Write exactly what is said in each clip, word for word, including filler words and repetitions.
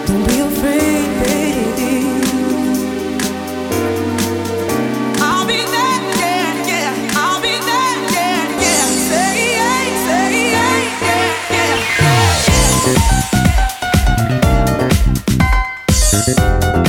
Don't be afraid, baby. I'll be there, yeah, yeah. I'll be there, yeah, yeah. Say yeah, say yeah, yeah, yeah, yeah.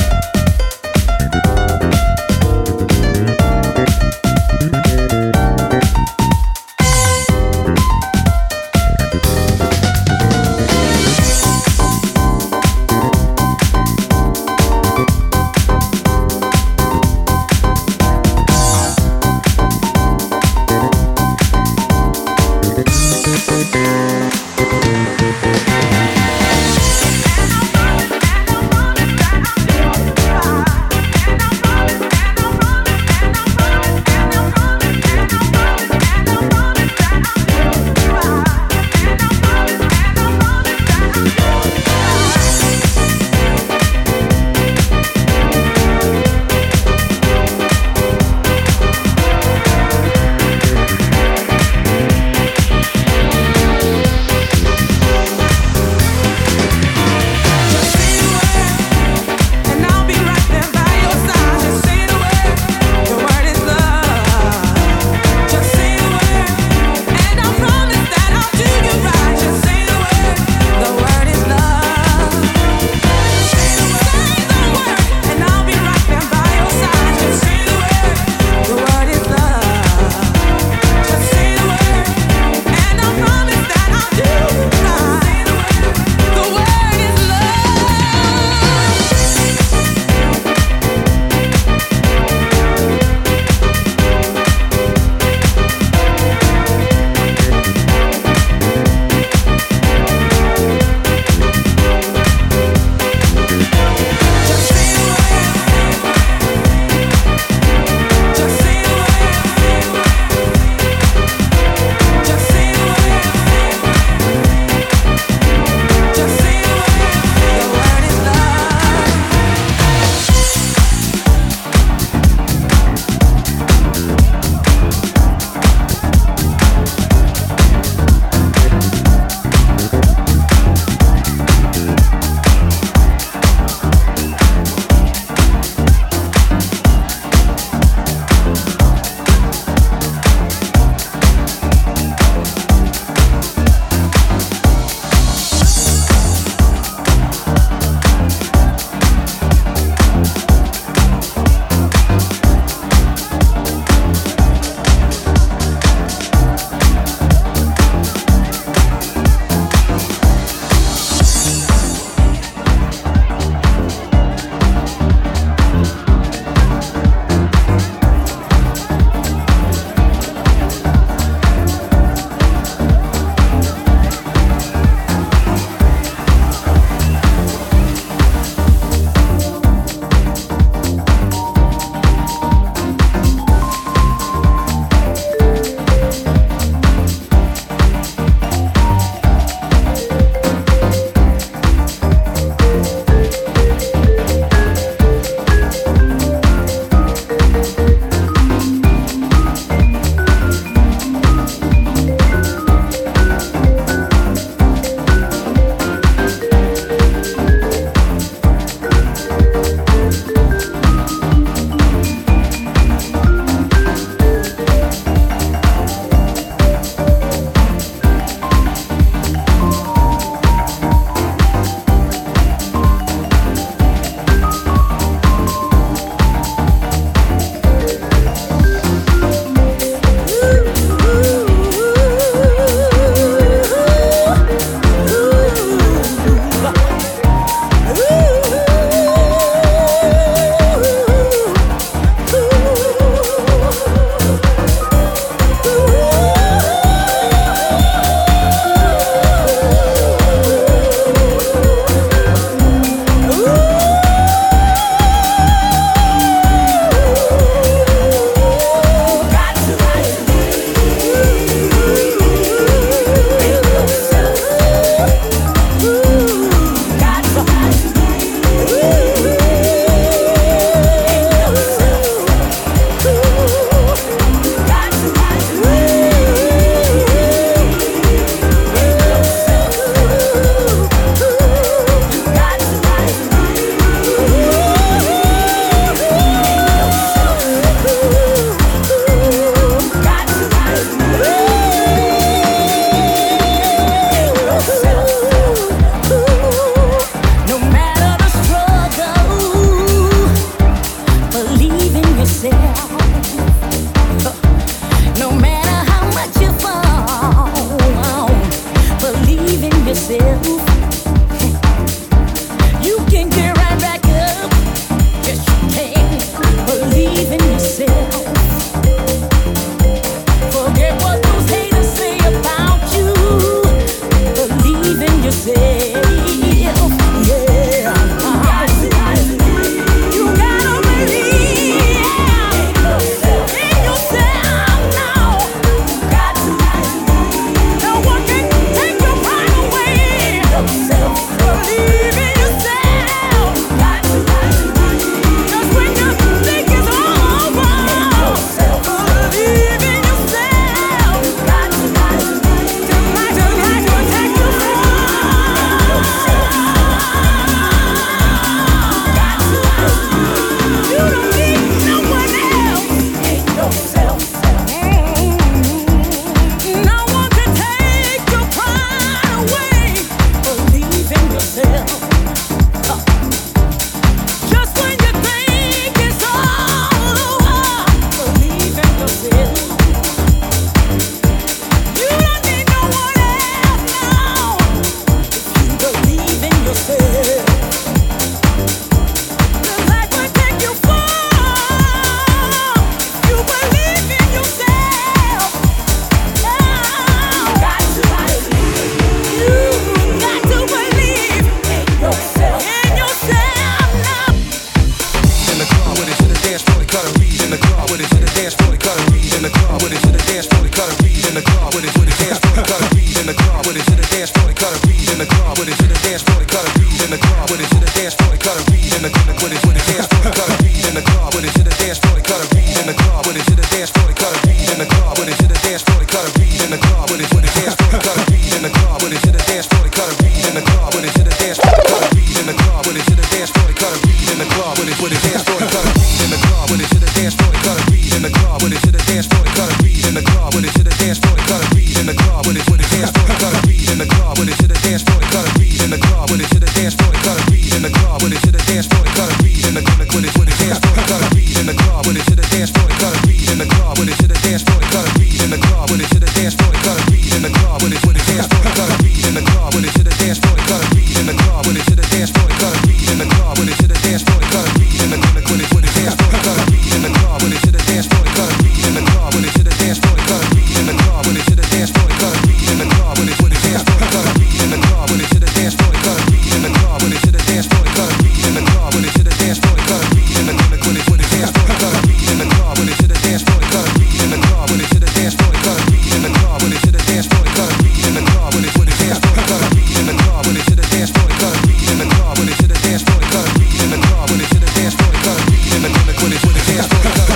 the club with it to the dance floor, they cut a beat in the club with it with the dance floor, they cut a beat in the club with it to the dance floor, they cut a beat in the club with it to the dance floor, they cut a beat in the club with it to the dance floor, they cut a beat in the club with it with the dance floor, they cut a beat in the club with it to the dance floor, they cut a beat in the club with it to the dance floor, they cut a beat in the club with it to the dance floor, they cut a beat in the club with it with the dance floor, they cut a beat in the club with it to the dance floor, they cut a beat in the club with it to the dance floor, they cut a beat in the club with it to the dance floor, they cut a beat in the club with it with the dance floor, they cut a beat in the club with it to the dance floor, they cut a beat in the club with it to the dance floor, they cut a beat in the club with it to the dance floor, they cut a beat in the club with it with the dance floor, they cut a beat in the club with it to the dance floor, they cut a beat in the club with it to the dance floor, they cut a beat in the club with it to the dance floor, they cut a beat in the club with it with the dance floor, they cut a beat in the club with it to the dance floor, they cut a beat in the club with it to the dance floor, they cut a beat in the club with it to the dance floor, they cut a beat in the club with it with the dance floor, they cut a beat in the club with it to the dance floor, they cut a beat in the club with it to the dance floor, they cut a beat in the club with it to the dance floor, they cut a beat in the club with it with the dance floor, they cut a beat in the club with it to the dance floor, they cut a beat in the club with it to the dance floor, they cut a beat in the club with it to the dance floor, they cut a beat in the club with it with the dance floor, they cut a beat in the club with it to the dance floor, they cut a beat in the club with it to the dance floor, they cut a beat in the club with it to the dance floor, they cut a beat in the club with it with the dance floor, they cut a beat in the club with it to the dance floor, they cut a beat in the club with it to the dance floor, they cut a beat in the club with it to the dance floor, they cut a beat in the club with it with the dance floor, they cut a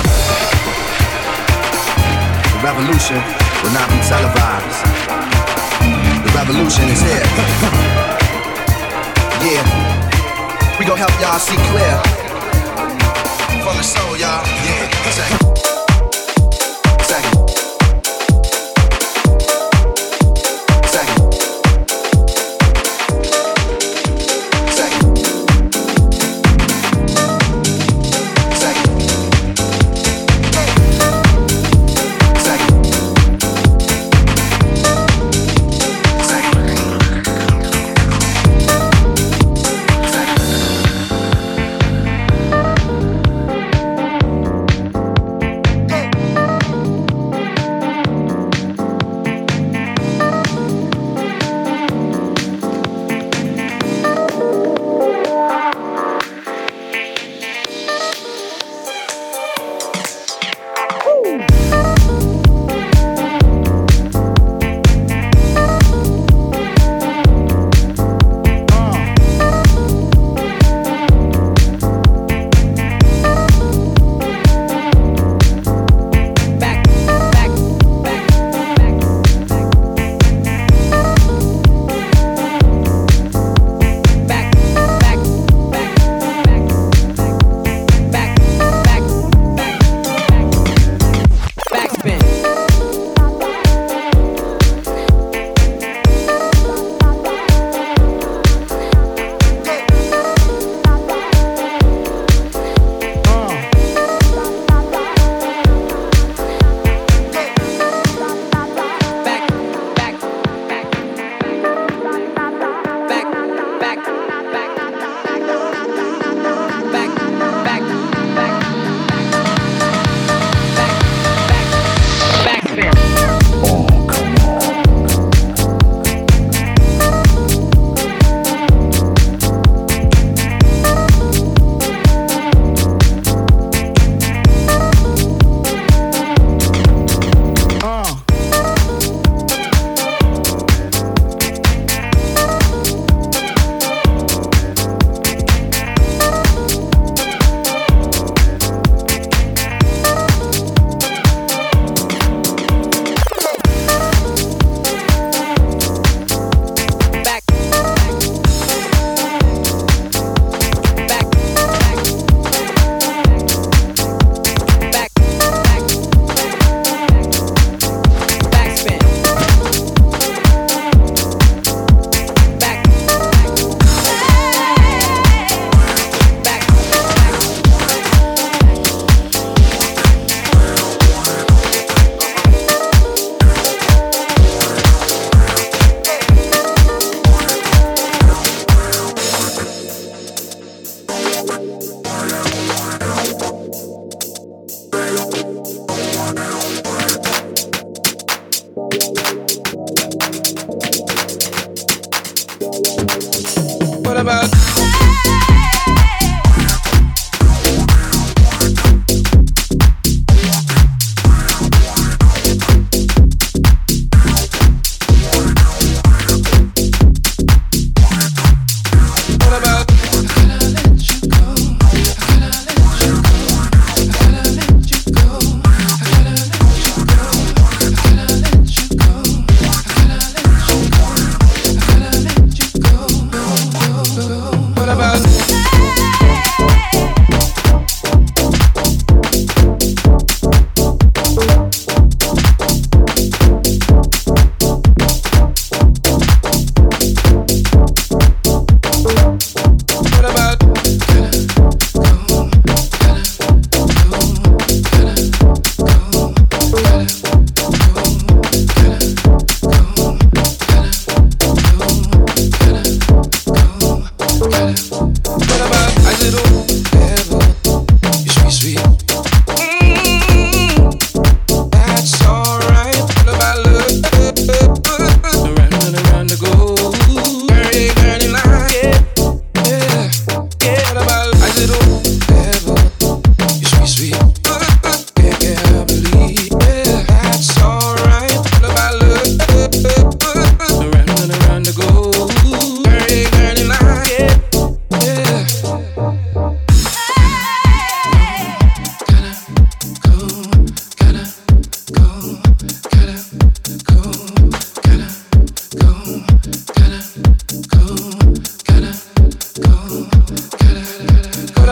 The revolution will not be televised. The revolution is here. Yeah, we gon' help y'all see clear. From the soul, y'all. Yeah, second. Second. Second. Second. Second.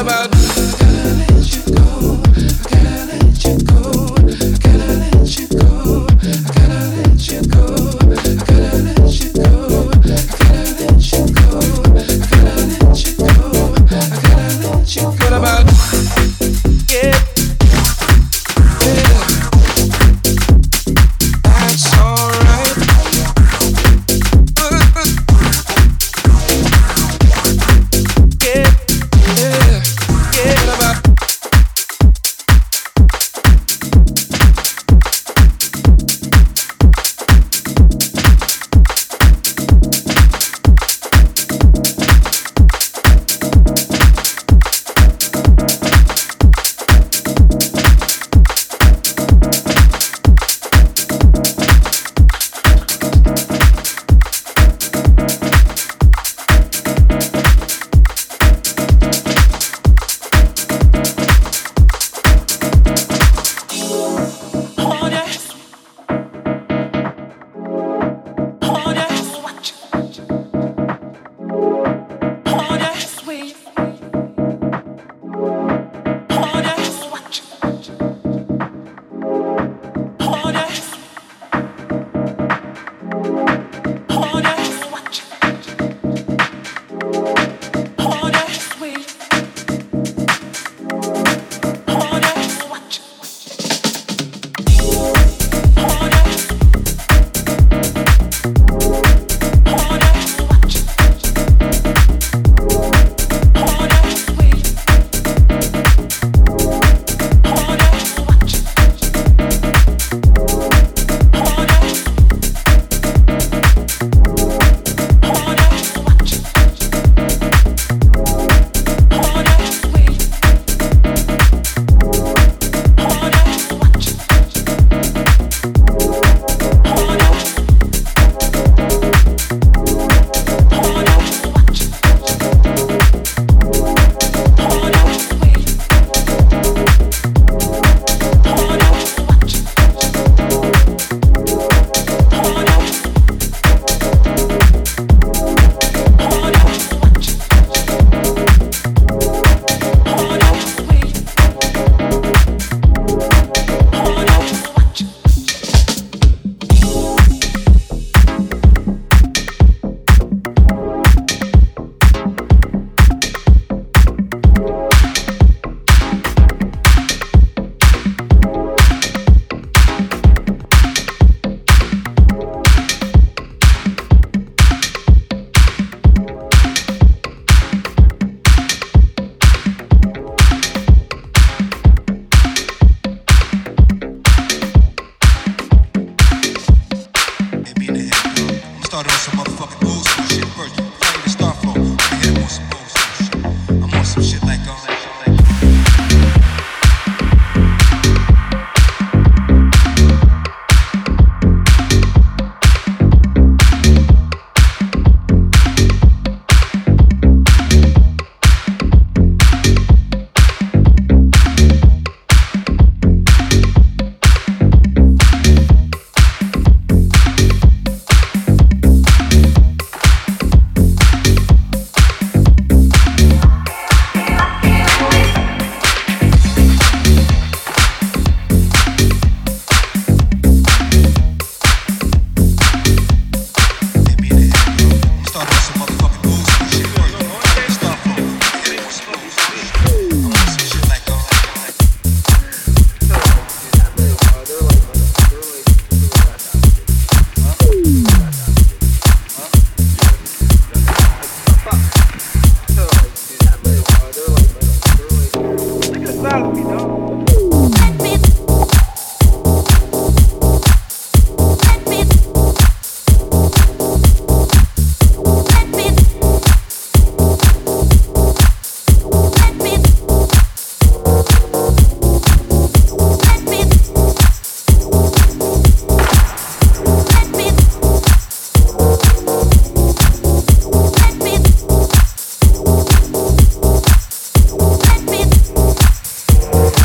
Let me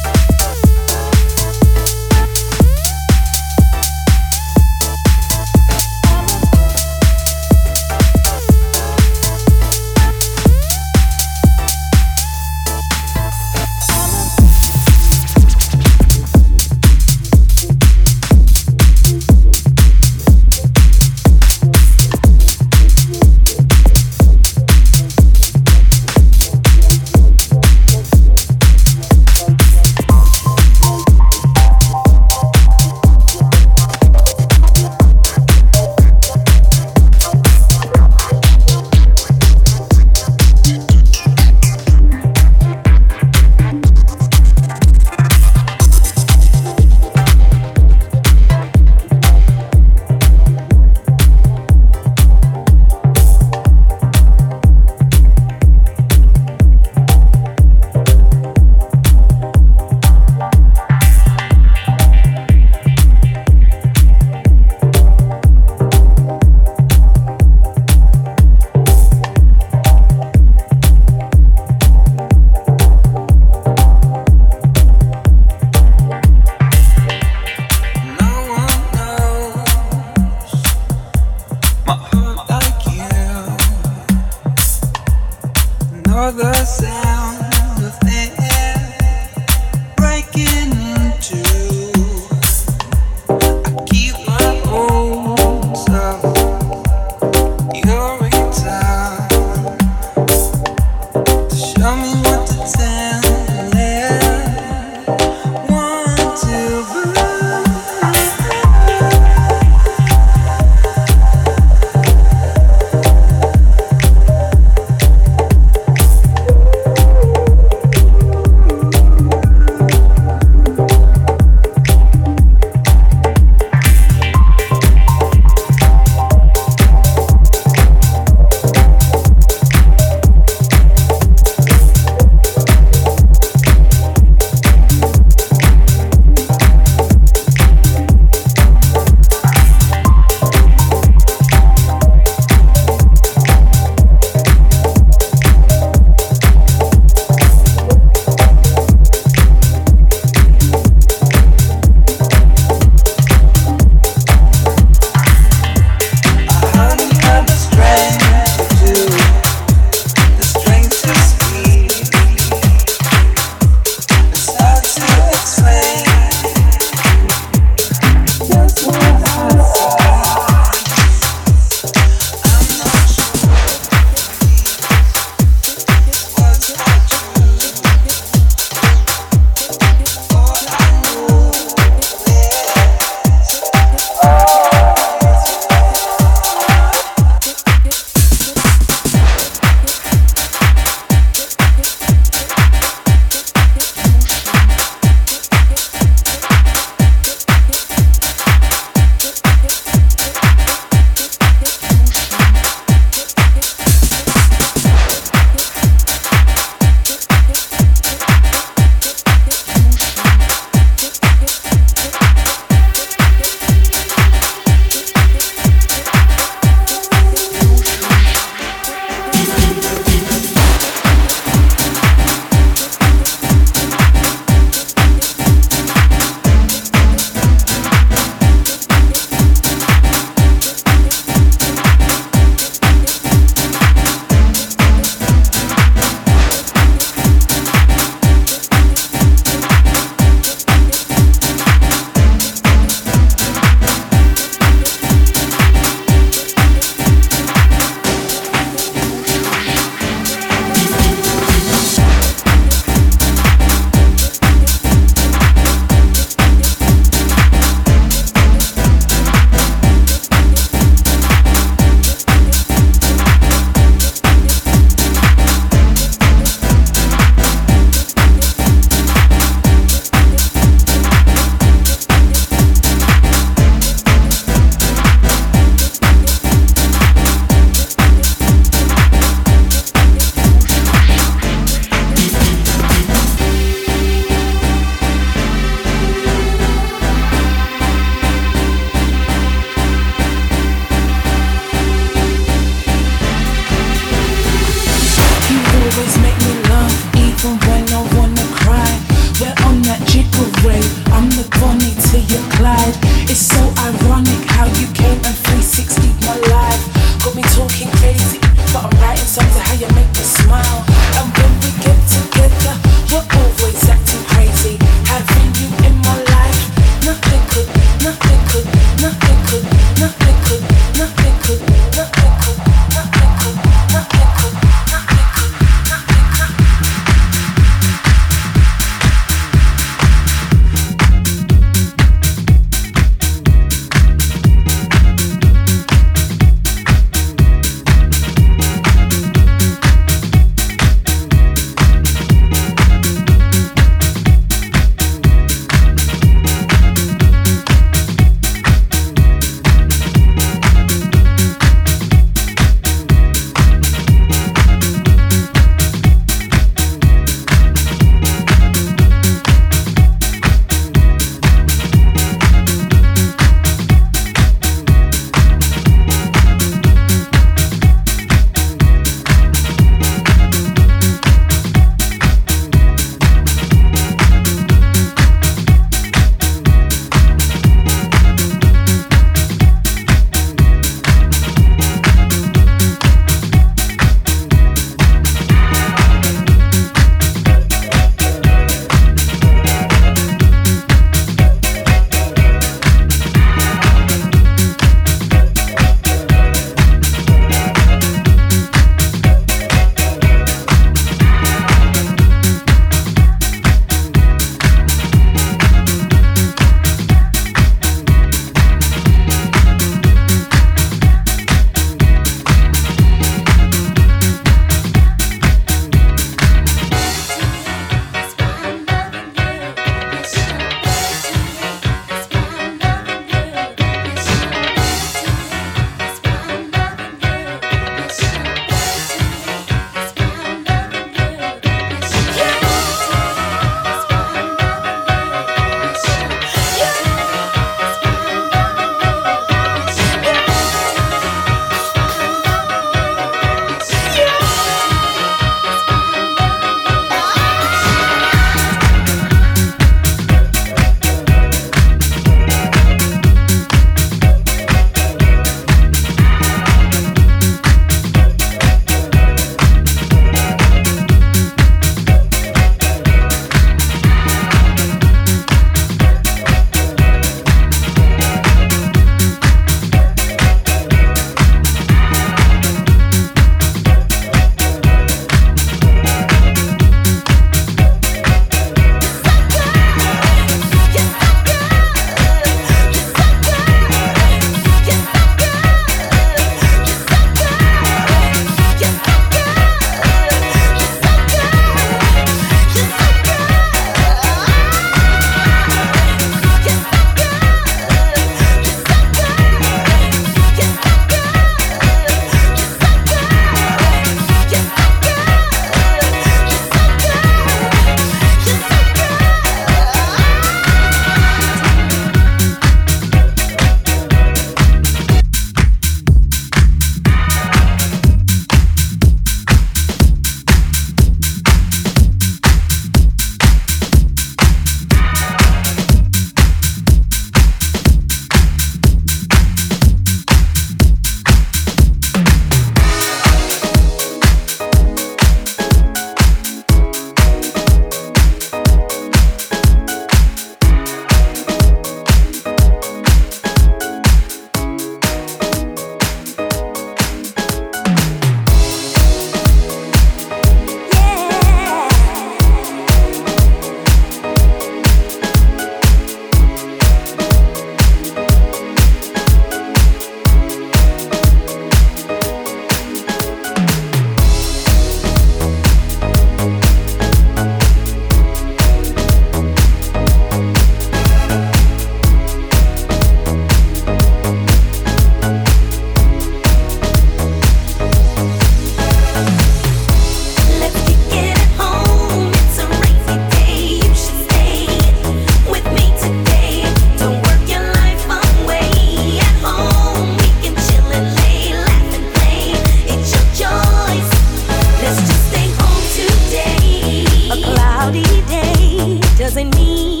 doesn't mean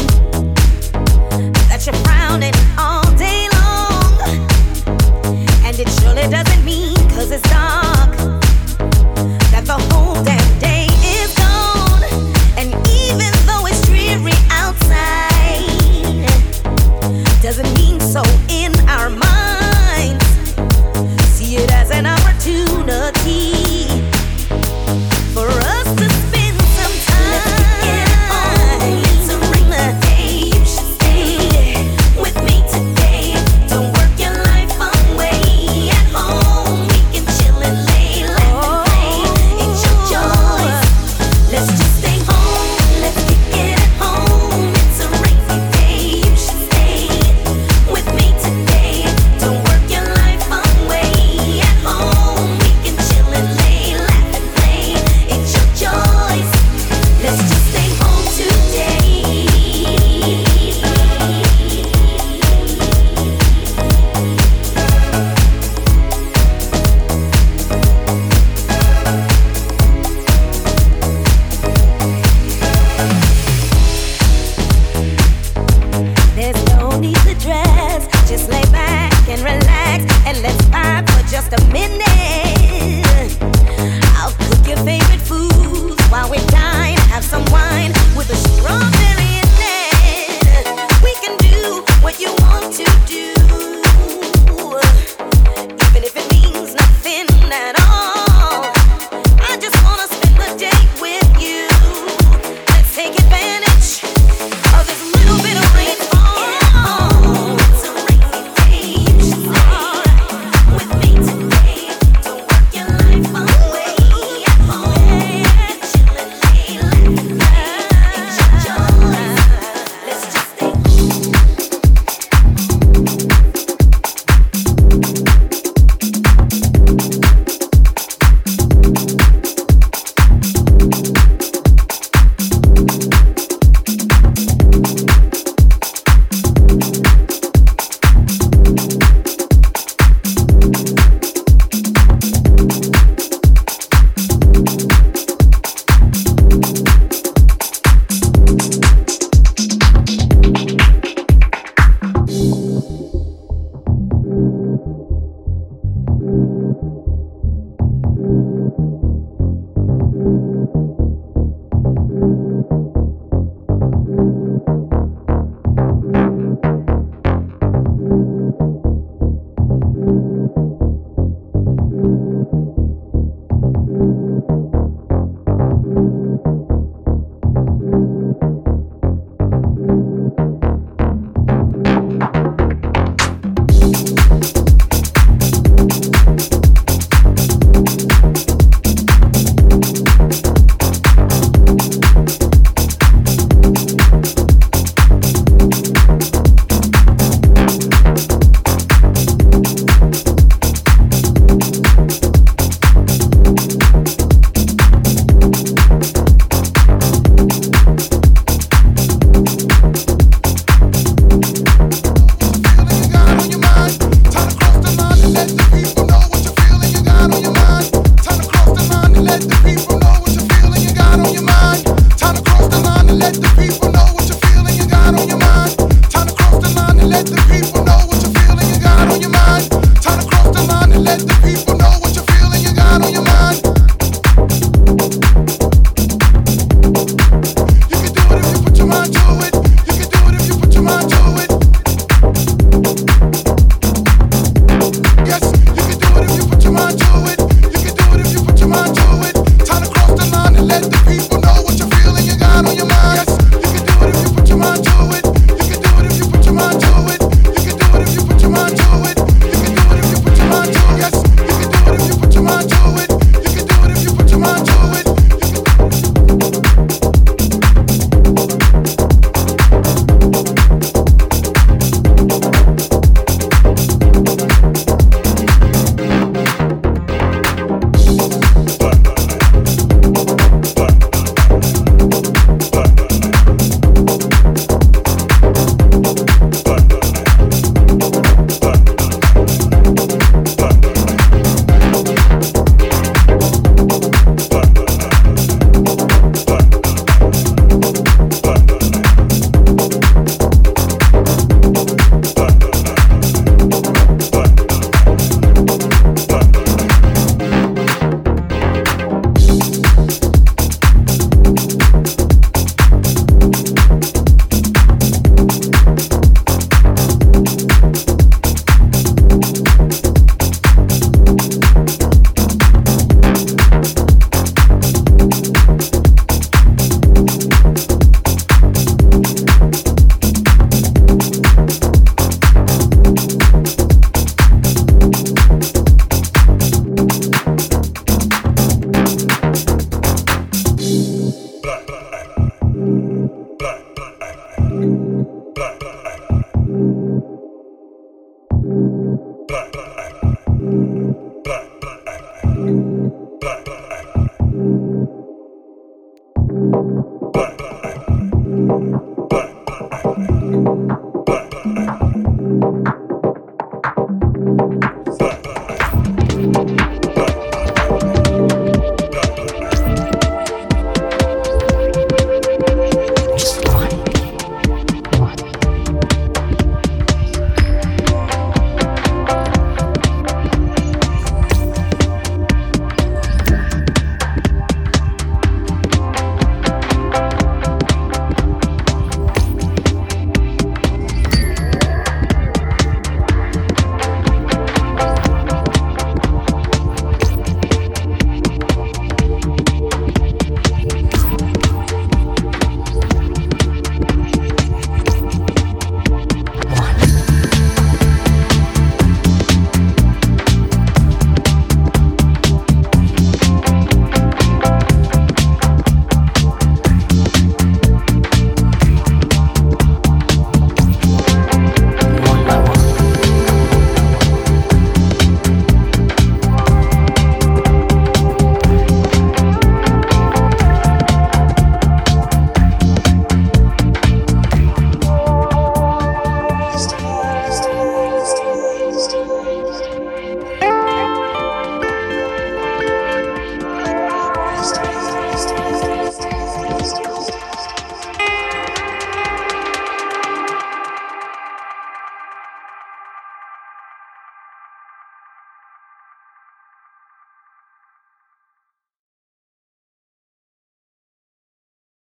that you're frowning all day long. And it surely doesn't mean, cause it's dark, that the whole damn day is gone. And even though it's dreary outside, doesn't mean so in our minds. See it as an opportunity for us to spend some time. Let's get it home. It's a rainy day. You should stay with me today. Don't work your life away. At home we can chill and lay, laugh and play. It's your choice. Let's just stay home. Let's get it home. It's a rainy day. You should stay with me today. Don't work your life away. At home we can chill and lay, laugh and play. It's your choice. Let's just stay home today. There's no need to dress. Just lay back and relax and let's vibe for just a minute. I'll cook your favorite foods while we dine. Have some wine with a strawberry in it. We can do what you want to do, even if it means nothing at all. I just wanna spend the day with you. Let's take advantage of this little bit of rainfall. It's a rainy day. You should stay with me today. Don't work your life away. At home, chill and lay, laugh and play. It's your choice. Let's just stay home. Yes, you can do it if you put your mind to it. You can do it if you put your mind to it. You can do it Black.